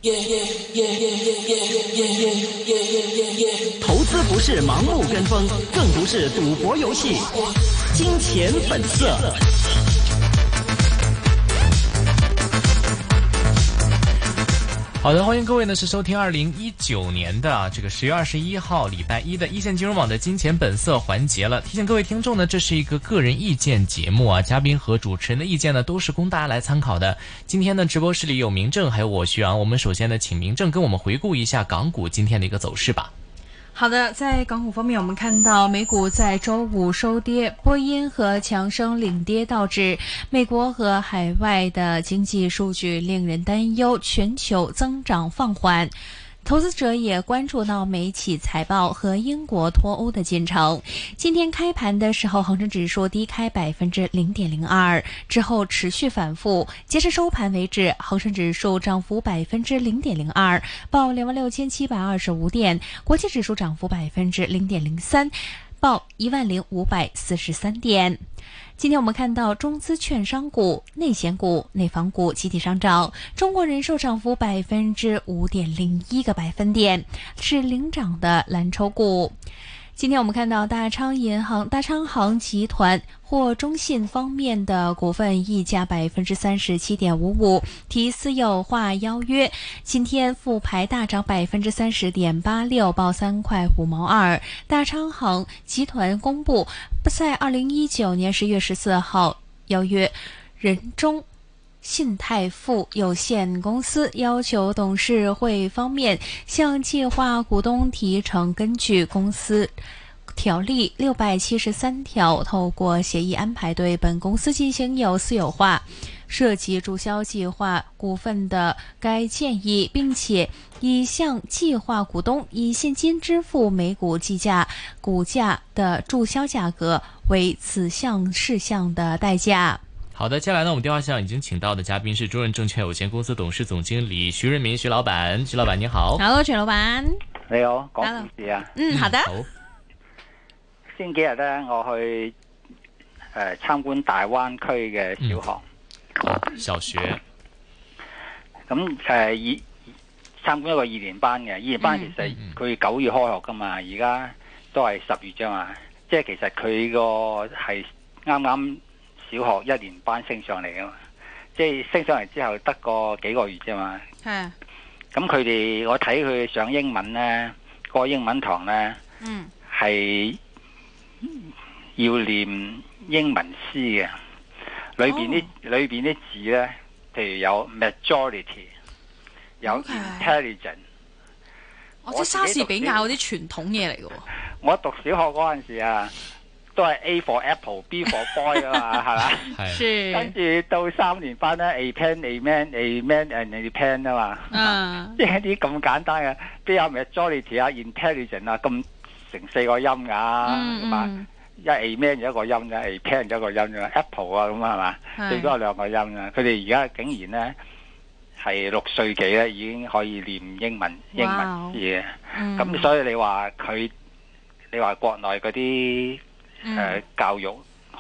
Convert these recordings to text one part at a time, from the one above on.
投资不是盲目跟风，更不是赌博游戏。金钱本色。 好的，欢迎各位呢是收听2019年的这个10月21号礼拜一的一线金融网的金钱本色环节了。提醒各位听众呢，这是一个个人意见节目啊，嘉宾和主持人的意见呢都是供大家来参考的。今天呢直播室里有明正还有我徐昂，我们首先呢请明正跟我们回顾一下港股今天的一个走势吧。 好的，在港股方面，我们看到美股在周五收跌，波音和强生领跌，导致美国和海外的经济数据令人担忧，全球增长放缓。投资者也关注到美企财报和英国脱欧的进程。今天开盘的时候，恒生指数低开0.02%，之后持续反复。截至收盘为止，恒生指数涨幅0.02%，报26,725点；国际指数涨幅0.03%，报10,543点。今天我们看到中资券商股、内险股、内房股集体上涨，中国人寿涨幅5.01个百分点，是领涨的蓝筹股。今天我们看到大昌行集团或中信方面的股份溢价37.55%，提私有化邀约。今天复牌大涨30.86%，报3块5毛2。大昌行集团公布，在2019年10月14号邀约人中信泰富有限公司，要求董事会方面向计划股东提成根据公司条例673条，透过协议安排对本公司进行私有化，涉及注销计划股份的该建议，并且已向计划股东以现金支付每股计价股价的注销价格为此项事项的代价。 好的，接下来呢，我们电话上已经请到的嘉宾是中润证券有限公司董事总经理徐润民徐老板。徐老板你好。 Hello， 徐老板。 你好，講故事啊。 好的。 好。 先幾日咧，我去參觀大灣區嘅小學。 小學。 咁參觀一個2年班嘅，2年班其實佢9月開學噶嘛，而家都係10月啫嘛，即係其實佢個係啱啱小學1年班升上嚟噶嘛，即係升上嚟之後得個幾個月啫嘛。係。咁佢哋我睇佢上英文咧，個英文堂咧，係要念英文詩嘅，裏邊啲字咧，譬如有 majority， 有 intelligent。 即係莎士比亞嗰啲傳統嘢嚟嘅喎。 我讀小學嗰陣時啊，都係 A for apple，B for boy 啊嘛，係嘛？係。跟住到3年班咧 ，a pen，a man，a man and a pen 啊嘛。即係啲咁簡單嘅，邊有 majority 啊 ，intelligent 啊，咁成4個音㗎，係嘛？一 A man 有一個音嘅 ，A pen 有一個音嘅 ，apple 啊咁係嘛？最多有2個音嘅。佢哋而家竟然咧係6歲幾咧已經可以念英文詩嘅。咁所以你話國內嗰啲教育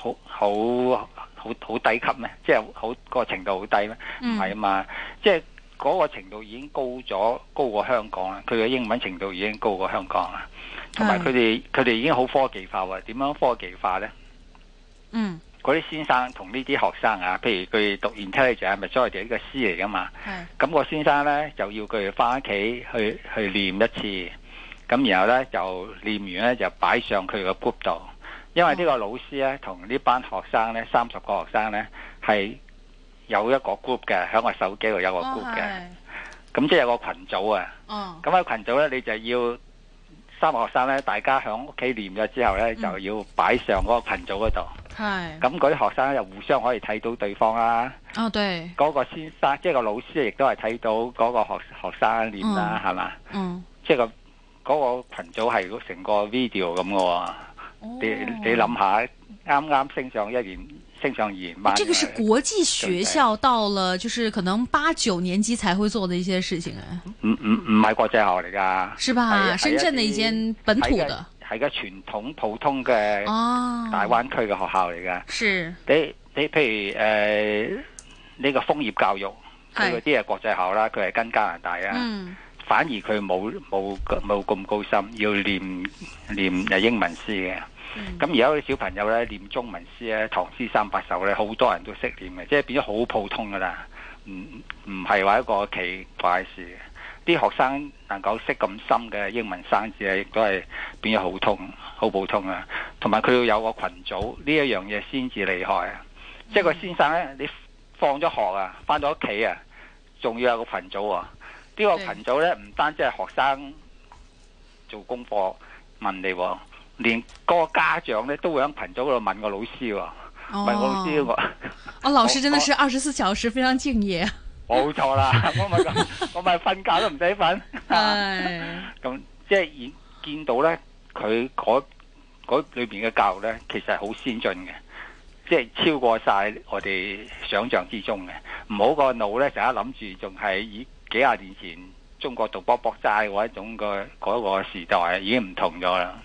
好低級咩？即係個程度好低咩？唔係啊嘛，即係嗰個程度已經高過香港啦。佢嘅英文程度已經高過香港啦。同埋佢哋已經好科技化喎。點樣科技化呢？嗰啲先生同呢啲學生啊，譬如佢讀 intelligence 咪所謂一個詩嚟噶嘛。咁個先生呢，就要佢哋翻屋企去念一次，咁然後呢，就念完呢，就擺上佢個 group 度，因為呢個老師呢，同呢班學生呢，30個學生呢，係有一個 group 嘅，喺個手機度有個 group 嘅，咁即係有個群組啊。咁喺群組呢，你就要3個學生咧，大家喺屋企念咗之後咧，就要擺上嗰個群組嗰度。係。咁嗰啲學生咧，就互相可以睇到對方啦。哦，對。嗰個先生，即係個老師，亦都係睇到嗰個學生念啦，係嘛？即係嗰個群組係成個 video 咁嘅喎。你諗下，啱啱升上2年班。 這個是國際學校到了，就是可能8、9年級才會做的一些事情啊。 唔係國際學校嚟㗎。是吧？深圳的一間本土的。 係個傳統普通嘅大灣區嘅學校嚟㗎。是。你譬如呢個楓葉教育， 佢嗰啲係國際學校啦，佢係跟加拿大啊。反而佢冇咁高深，要念英文詩嘅。咁而家啲小朋友咧念中文詩咧，唐詩三百首咧，好多人都識念嘅，即係變咗好普通噶啦，唔係話一個奇怪事嘅。啲學生能夠識咁深嘅英文生字咧，亦都係變咗好普通啊。同埋佢要有個群組，呢一樣嘢先至厲害啊！即係個先生咧，你放咗學啊，翻到屋企啊，仲要有個群組啊。呢個群組咧，唔單止係學生做功課問你，連嗰個家長咧都會喺群組嗰度問個老師，問個老師老師真的是24小時非常敬業。 冇錯啦，我咪瞓覺都唔使瞓。咁即係見到咧，佢嗰裏邊嘅教育咧，其實係好先進嘅，即係超過晒我哋想象之中嘅。唔好個腦咧，成日諗住仲係以幾廿年前中國讀卜卜齋嗰一種嗰個時代已經唔同咗啦。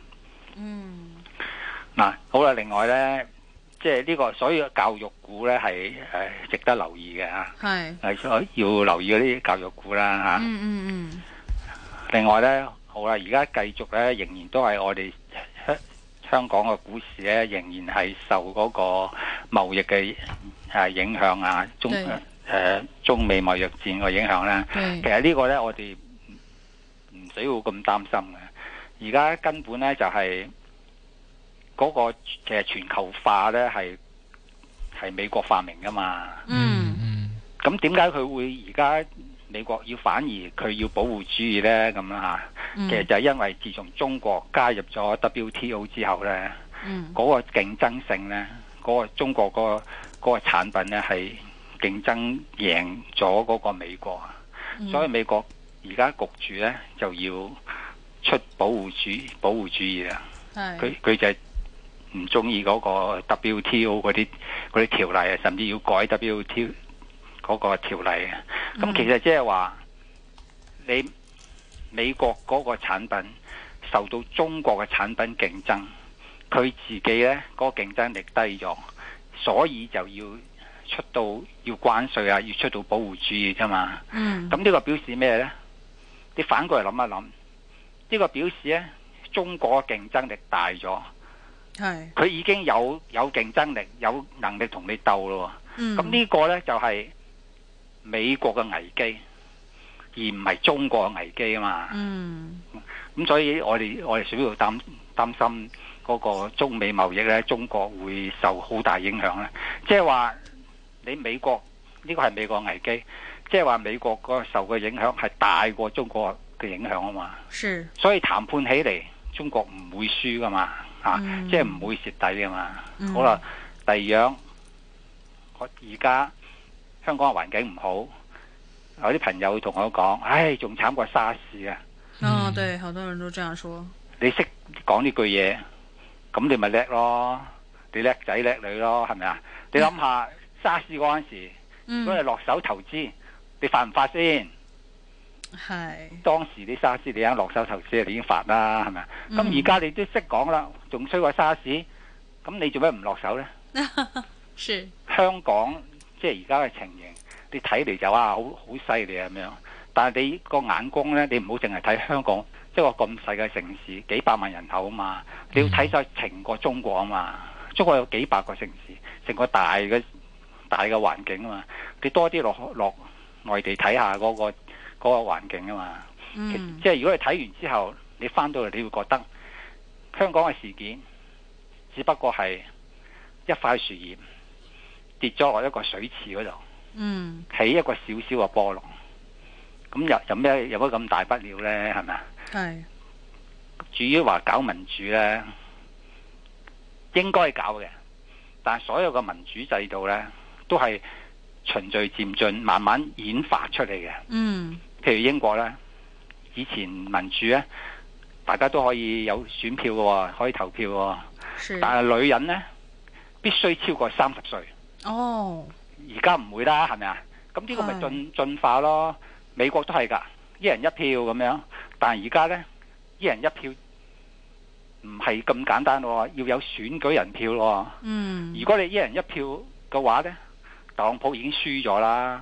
嗱，好啦，另外咧，即係呢個所以教育股咧係值得留意嘅嚇，係要留意嗰啲教育股啦嚇。另外咧，好啦，而家繼續咧，仍然都係我哋香港嘅股市咧，仍然係受嗰個貿易嘅影響啊，中美貿易戰嘅影響咧。其實呢個咧，我哋唔使要咁擔心嘅。而家根本咧就係嗰個其實全球化咧係美國發明噶嘛。咁點解佢會而家美國反而佢要保護主義咧咁啊？其實就係因為自從中國加入咗 WTO 之後咧，嗰個競爭性咧，嗰個中國嗰個產品咧係競爭贏咗嗰個美國，所以美國而家焗住咧就要出保護主義啦。佢就係唔中意嗰個 WTO 嗰啲條例啊，甚至要改 WTO 嗰個條例啊。咁其實即係話你美國嗰個產品受到中國嘅產品競爭，佢自己呢嗰個競爭力低咗，所以就要出到要關稅啊，要出到保護主義啫嘛。咁呢個表示咩呢？你反過嚟諗一諗，呢個表示呢，中國嘅競爭力大咗，佢已經有競爭力，有能力同你鬥咯。咁呢個呢，就係美國嘅危機，而唔係中國嘅危機啊嘛。咁所以我哋需要擔心嗰個中美貿易呢，中國會受好大影響咧。即係話你美國呢個係美國危機，即係話美國嗰個受嘅影響係大過中國嘅影響啊嘛。所以談判起嚟，中國唔會輸噶嘛，即係唔會蝕底噶嘛。好啦，第二樣，而家香港嘅環境唔好，有啲朋友同我講，唉，仲慘過沙士啊。 對，好多人都這樣說。 你識講呢句嘢，咁你咪叻咯，你叻仔叻女咯，係咪啊？你諗下沙士嗰陣時，如果你落手投資，你發唔發先？當時啲沙士你啱落手投資，你已經發啦，係咪啊？咁而家你都識講啦，仲衰過沙士，咁你做咩唔落手呢？香港即係而家嘅情形，你睇嚟就好犀利咁樣，但係你個眼光呢，你唔好淨係睇香港，即係個咁細嘅城市，幾百萬人口啊嘛，你要睇晒成個中國啊嘛。中國有幾百個城市，成個大嘅環境啊嘛，你多啲落外地睇下嗰個環境啊嘛。即係如果你睇完之後，你翻到嚟你會覺得香港嘅事件只不過係一塊樹葉跌咗落一個水池嗰度，起一個小小嘅波浪，咁有乜咁大不了呢？係咪啊？至於話搞民主呢，應該搞嘅，但係所有嘅民主制度呢，都係循序漸進，慢慢演化出嚟嘅。譬如英國呢，以前民主呢，大家都可以有選票嘅，可以投票嘅，但係女人呢，必須超過30歲。而家唔會啦，係咪啊？咁呢個咪進化咯。美國都係㗎，一人一票咁樣，但係而家呢，一人一票唔係咁簡單喎，要有選舉人票喎。如果你一人一票嘅話呢，特朗普已經輸咗啦。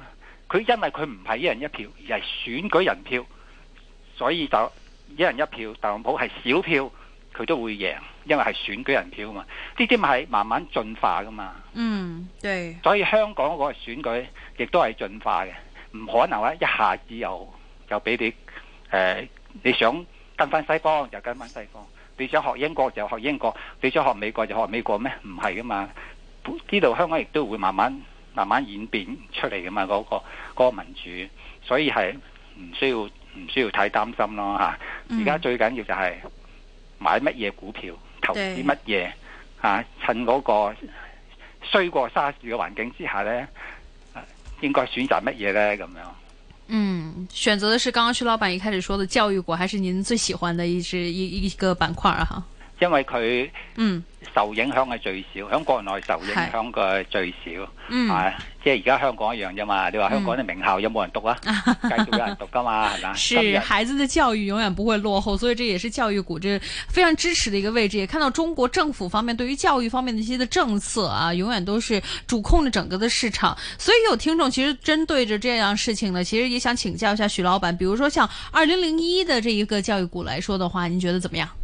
佢因為佢唔係一人一票，而係選舉人票，所以就一人一票，特朗普係少票，佢都會贏，因為係選舉人票嘛。呢啲咪係慢慢進化噶嘛。 對。 所以香港嗰個選舉亦都係進化嘅，唔可能話一下子又俾你你想跟翻西方就跟翻西方，你想學英國就學英國，你想學美國就學美國咩？唔係噶嘛。呢度香港亦都會慢慢演變出嚟噶嘛，嗰個民主，所以係唔需要太擔心咯嚇。而家最緊要就係買乜嘢股票，投資乜嘢嚇，趁嗰個衰過沙士嘅環境之下呢，應該選擇乜嘢呢？咁樣。 選擇的是剛剛徐老闆一開始說的教育股，還是您最喜歡的一個板塊啊？哈， 因為佢受影響係最少，喺國內受影響嘅最少，即係而家香港一樣啫嘛。你話香港啲名校有冇人讀啊？繼續有人讀噶嘛，係嘛？ 是孩子的教育永遠不會落後，所以這也是教育股這非常支持的一個位置。也看到中國政府方面對於教育方面的一些的政策啊，永遠都是主控着整個的市場。所以有聽眾其實針對着這樣事情呢，其實也想請教一下徐老闆，比如說像2001的這一個教育股來說的話，您覺得怎麼樣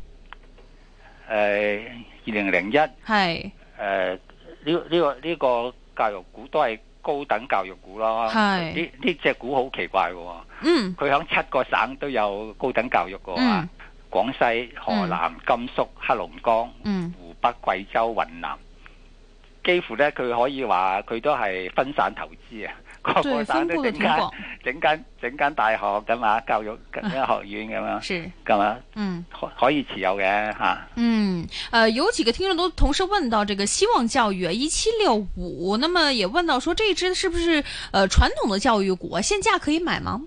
？2001 係呢個教育股都係高等教育股咯。呢隻股好奇怪嘅，佢響7個省都有高等教育嘅，廣西、河南、甘肅、黑龍江、湖北、貴州、雲南，幾乎呢，佢可以話佢都係分散投資啊。個個省都整間大學咁嘛，教育學院咁樣，咁嘛，可以持有嘅吓。 有幾個聽眾都同時問到這個希望教育1765，那麼也問到說這支是不是傳統的教育股啊？現價可以買嗎？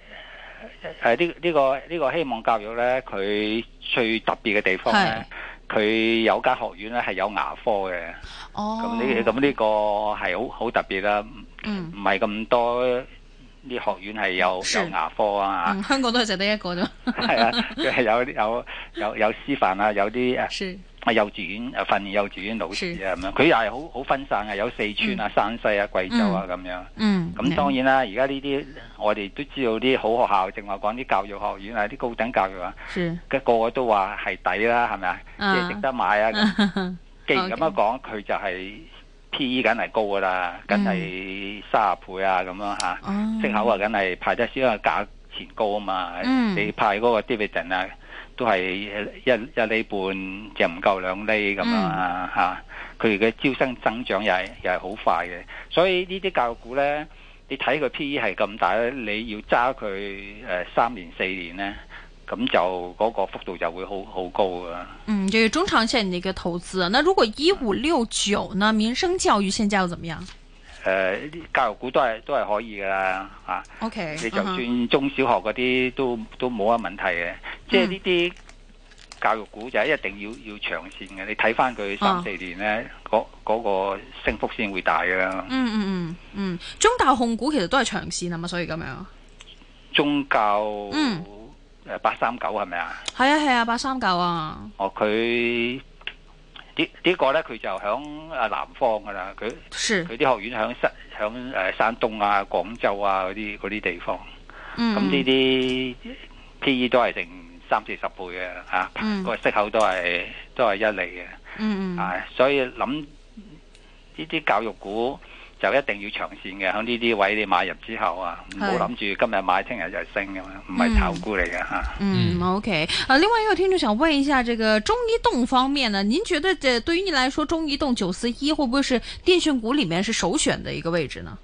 呢個希望教育咧，佢最特別嘅地方咧，佢有間學院咧係有牙科嘅。咁呢個係好特別啦。唔係咁多啲學院係有牙科啊， 香港都係淨得一個啫。 係啊，佢係有師範啊，有啲幼稚園訓練幼稚園老師啊咁樣。佢又係好分散嘅，有四川啊、山西啊、貴州啊咁樣。咁當然啦，而家呢啲我哋都知道啲好學校，正話講啲教育學院啊，啲高等教育啊，個個都話係抵啦，係咪啊？即係值得買啊！既然咁樣講，佢就係。P/E 梗係高噶啦，梗係30倍啊咁樣吓，息口啊梗係派得少，因為價錢高啊嘛。你派嗰個 dividend 啊，都係一厘半，就唔夠2厘咁樣啊吓。佢哋嘅招生增長又係好快嘅，所以呢啲教育股咧，你睇佢 P/E 係咁大咧，你要揸佢3年4年咧。咁就嗰個幅度就會好高啊。 這是中長線的一個投資。那如果1569呢？民生教育現價又怎麼樣？ 教育股都係可以噶啦嚇。 OK， 你就算中小學嗰啲都冇乜問題嘅。即係呢啲教育股就一定要長線嘅。你睇翻佢3、4年咧，嗰個升幅先會大噶。 中大控股其實都係長線啊嘛，所以咁樣。 中教839係咪啊？ 係啊，839啊。 佢呢個咧，佢就響南方噶啦。佢啲學院響山東啊、廣州啊嗰啲地方。咁呢啲 P/E 都係成30-40倍嘅嚇，個息口都係1厘嘅。所以諗呢啲教育股就一定要長線嘅，喺呢啲位你買入之後啊，唔好諗住今日買聽日就升㗎嘛，唔係炒股嚟嘅嚇。 OK。另外一個聽眾想問一下，這個中移動方面呢？您覺得對於您來說，中移動941會不會是電訊股裡面是首選的一個位置呢？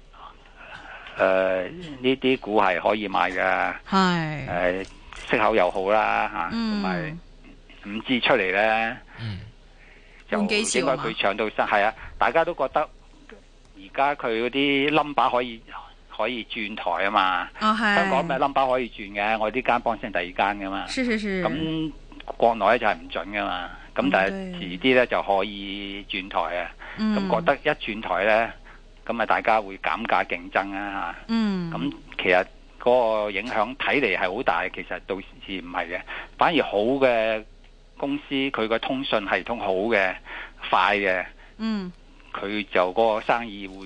呢啲股係可以買嘅，係息口又好啦嚇，同埋5G出嚟咧，就應該佢搶到生係啊！大家都覺得。而家佢嗰啲 number 可以轉台啊嘛，香港咩 number 可以轉嘅，我呢間幫襯第二間噶嘛，咁國內咧就係唔準噶嘛，咁但係遲啲咧就可以轉台啊，咁覺得一轉台咧，咁啊大家會減價競爭啊嚇，咁其實嗰個影響睇嚟係好大，其實到時唔係嘅，反而好嘅公司佢個通訊系統好嘅快嘅，佢就嗰個生意會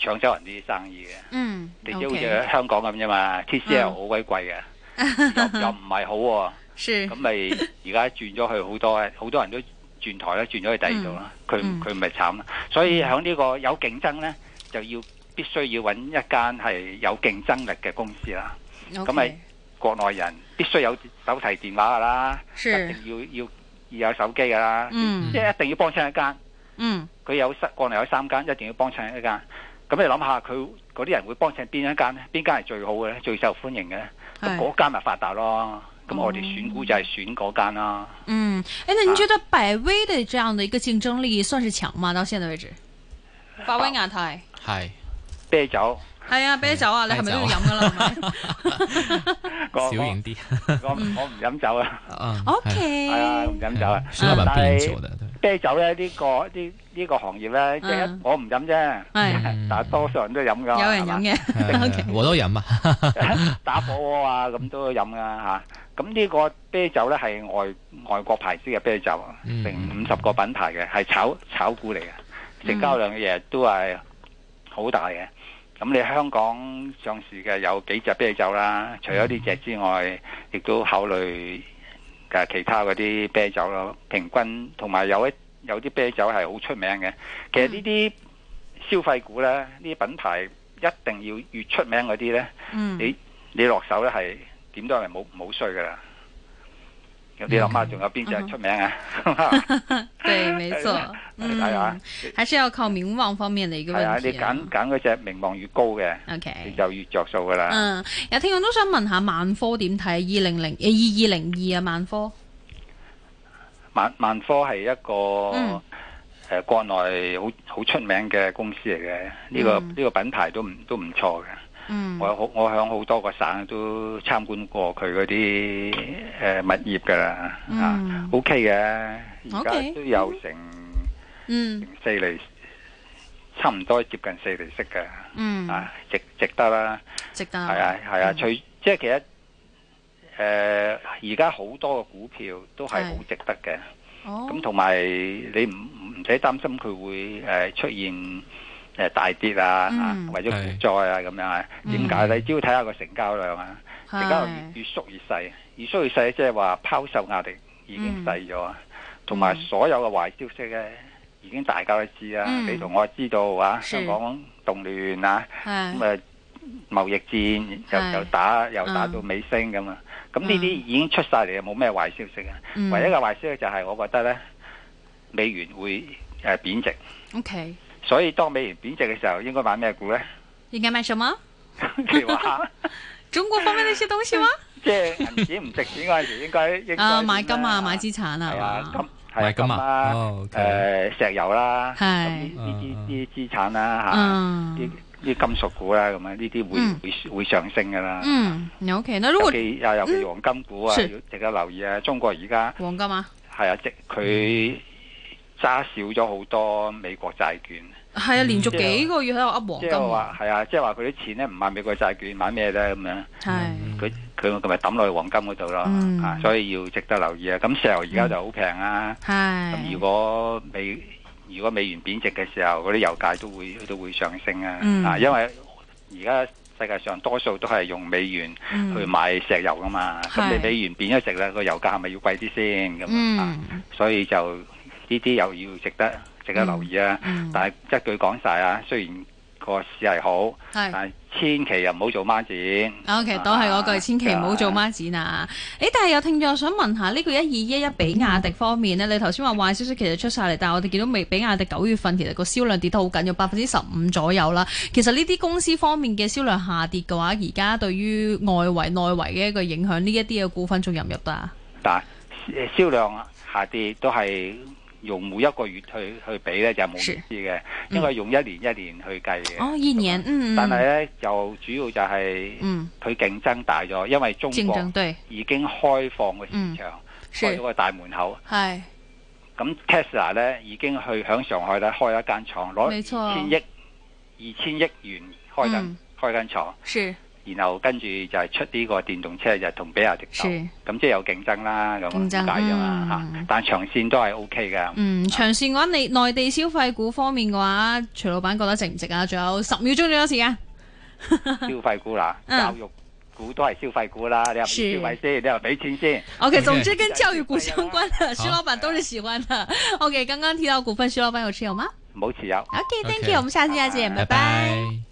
搶走人啲生意嘅。你知好 OK 似香港咁啫嘛，TCL 好鬼貴嘅，又唔係好喎。咁咪而家轉咗去好多人都轉台咧，轉咗去第二度啦。佢咪慘啦。所以喺呢個有競爭咧，就必須要揾一間係有競爭力嘅公司啦。咁咪國內人必須有手提電話噶啦，一定要有手機噶啦，即係一定要幫襯一間。佢國內有3間，一定要幫襯一間。咁你諗下，佢嗰啲人會幫襯邊一間咧？邊間係最好嘅咧？最受歡迎嘅咧？咁嗰間咪發達咯。咁我哋選股就係選嗰間啦。 那您覺得百威的這樣的一個競爭力算是強嗎？到現在為止，百威亞太係啤酒。 係啊，啤酒啊，你係咪都要飲噶啦？ 小型啲， 我唔飲酒啊。 OK， 係啊，唔飲酒啊。 但係啤酒咧呢個行業咧，即係我唔飲啫，但係多數人都飲噶。 有人飲嘅， 我都飲啊。 打火鍋啊，咁都飲噶嚇。咁呢個啤酒咧係外國牌子嘅啤酒，成50個品牌嘅，係炒股嚟嘅，成交量嘅嘢都係好大嘅。咁你香港上市嘅有幾隻啤酒啦，除咗呢隻之外，亦都考慮嘅其他嗰啲啤酒咯。平均同埋有啲啤酒係好出名嘅。其實呢啲消費股咧，呢啲品牌一定要越出名嗰啲咧，你落手咧係點都係冇衰噶啦。你諗下仲有邊隻出名啊？ 對，沒錯。還是要靠名望方面的一個問題。係啊， 你揀嗰隻名望越高嘅，OK，你就越着數噶啦。 有聽眾都想問下萬科點睇2202啊？萬科， 萬科係一個國內好出名嘅公司嚟嘅，呢個品牌都唔錯嘅。我響好多個省都參觀過佢嗰啲物業噶啦，OK 嘅，而家都有成4厘，差唔多接近4厘息嘅，值得啦， 值得係啊，即係其實而家好多嘅股票都係好值得嘅，咁同埋你唔使擔心佢會出現大跌啊，或者股災啊咁樣啊？點解咧？只要睇下個成交量啊，成交量越縮越細，越縮越細，即係話拋售壓力已經細咗，同埋所有嘅壞消息咧，已經大家都知啦。你同我知道啊，香港動亂啊，咁啊貿易戰又打到尾聲咁啊，咁呢啲已經出晒嚟，冇咩壞消息啊。唯一嘅壞消息就係我覺得咧，美元會貶值。 OK。 所以當美元貶值嘅時候，應該買咩股咧？ 應該買什麼？ 你話中國方面的一些東西嗎？ 即係銀紙唔值錢嗰陣時，應該買金啊，買資產啊， 係啊，買金啊，石油啦，咁呢啲資產啦嚇，啲金屬股啦，咁啊呢啲會上升噶啦。 OK，那如果尤其黃金股啊，要值得留意啊。中國而家黃金啊， 係啊，即佢揸少咗好多美國債券， 係啊，連續幾個月喺度噏黃金。即係話係啊，即係話佢啲錢咧唔買美國債券，買咩咧咁樣？係佢咪抌落去黃金嗰度咯，所以要值得留意啊。咁石油而家就好平啊，咁如果美元貶值嘅時候，嗰啲油價都會上升啊。因為而家世界上多數都係用美元去買石油噶嘛，咁你美元貶咗值咧，個油價係咪要貴啲先咁啊？所以就呢啲又要值得留意啊！但係一句講晒啊，雖然個市係好，但係千祈又唔好做孖展。 OK，都係嗰句，千祈唔好做孖展啊！但係有聽眾想問下呢個1211比亞迪方面呢，你頭先話壞消息其實出晒嚟，但係我哋見到比亞迪9月份其實個銷量跌得好緊要，15%左右啦。其實呢啲公司方面嘅銷量下跌嘅話，而家對於外圍內圍嘅一個影響，呢一啲嘅股份仲入唔入得啊？ 但係銷量下跌都係用每一個月去比咧就冇意思嘅，應該用一年去計嘅。 哦，一年， 但係咧就主要就係佢競爭大咗，因為中國已經開放個市場，開咗個大門口。係。咁 Tesla 咧已經去響上海咧開一間廠，攞2000億元開間廠。是。 然後跟住就係出呢個電動車就同比亞迪鬥，咁即係有競爭啦，咁點解㗎嘛嚇？但長線都係 OK 嘅。 長線嘅話，你內地消費股方面嘅話，徐老闆覺得值唔值啊？仲有10秒鐘左右時間。 消費股啦，教育股都係消費股啦，你又唔消費先，你又俾錢先。 OK， 總之跟教育股相關的，徐老闆都是喜歡的。OK，剛剛提到股份，徐老闆有持有嗎？ 冇持有。 OK，Thank you，我們下次再見，拜拜。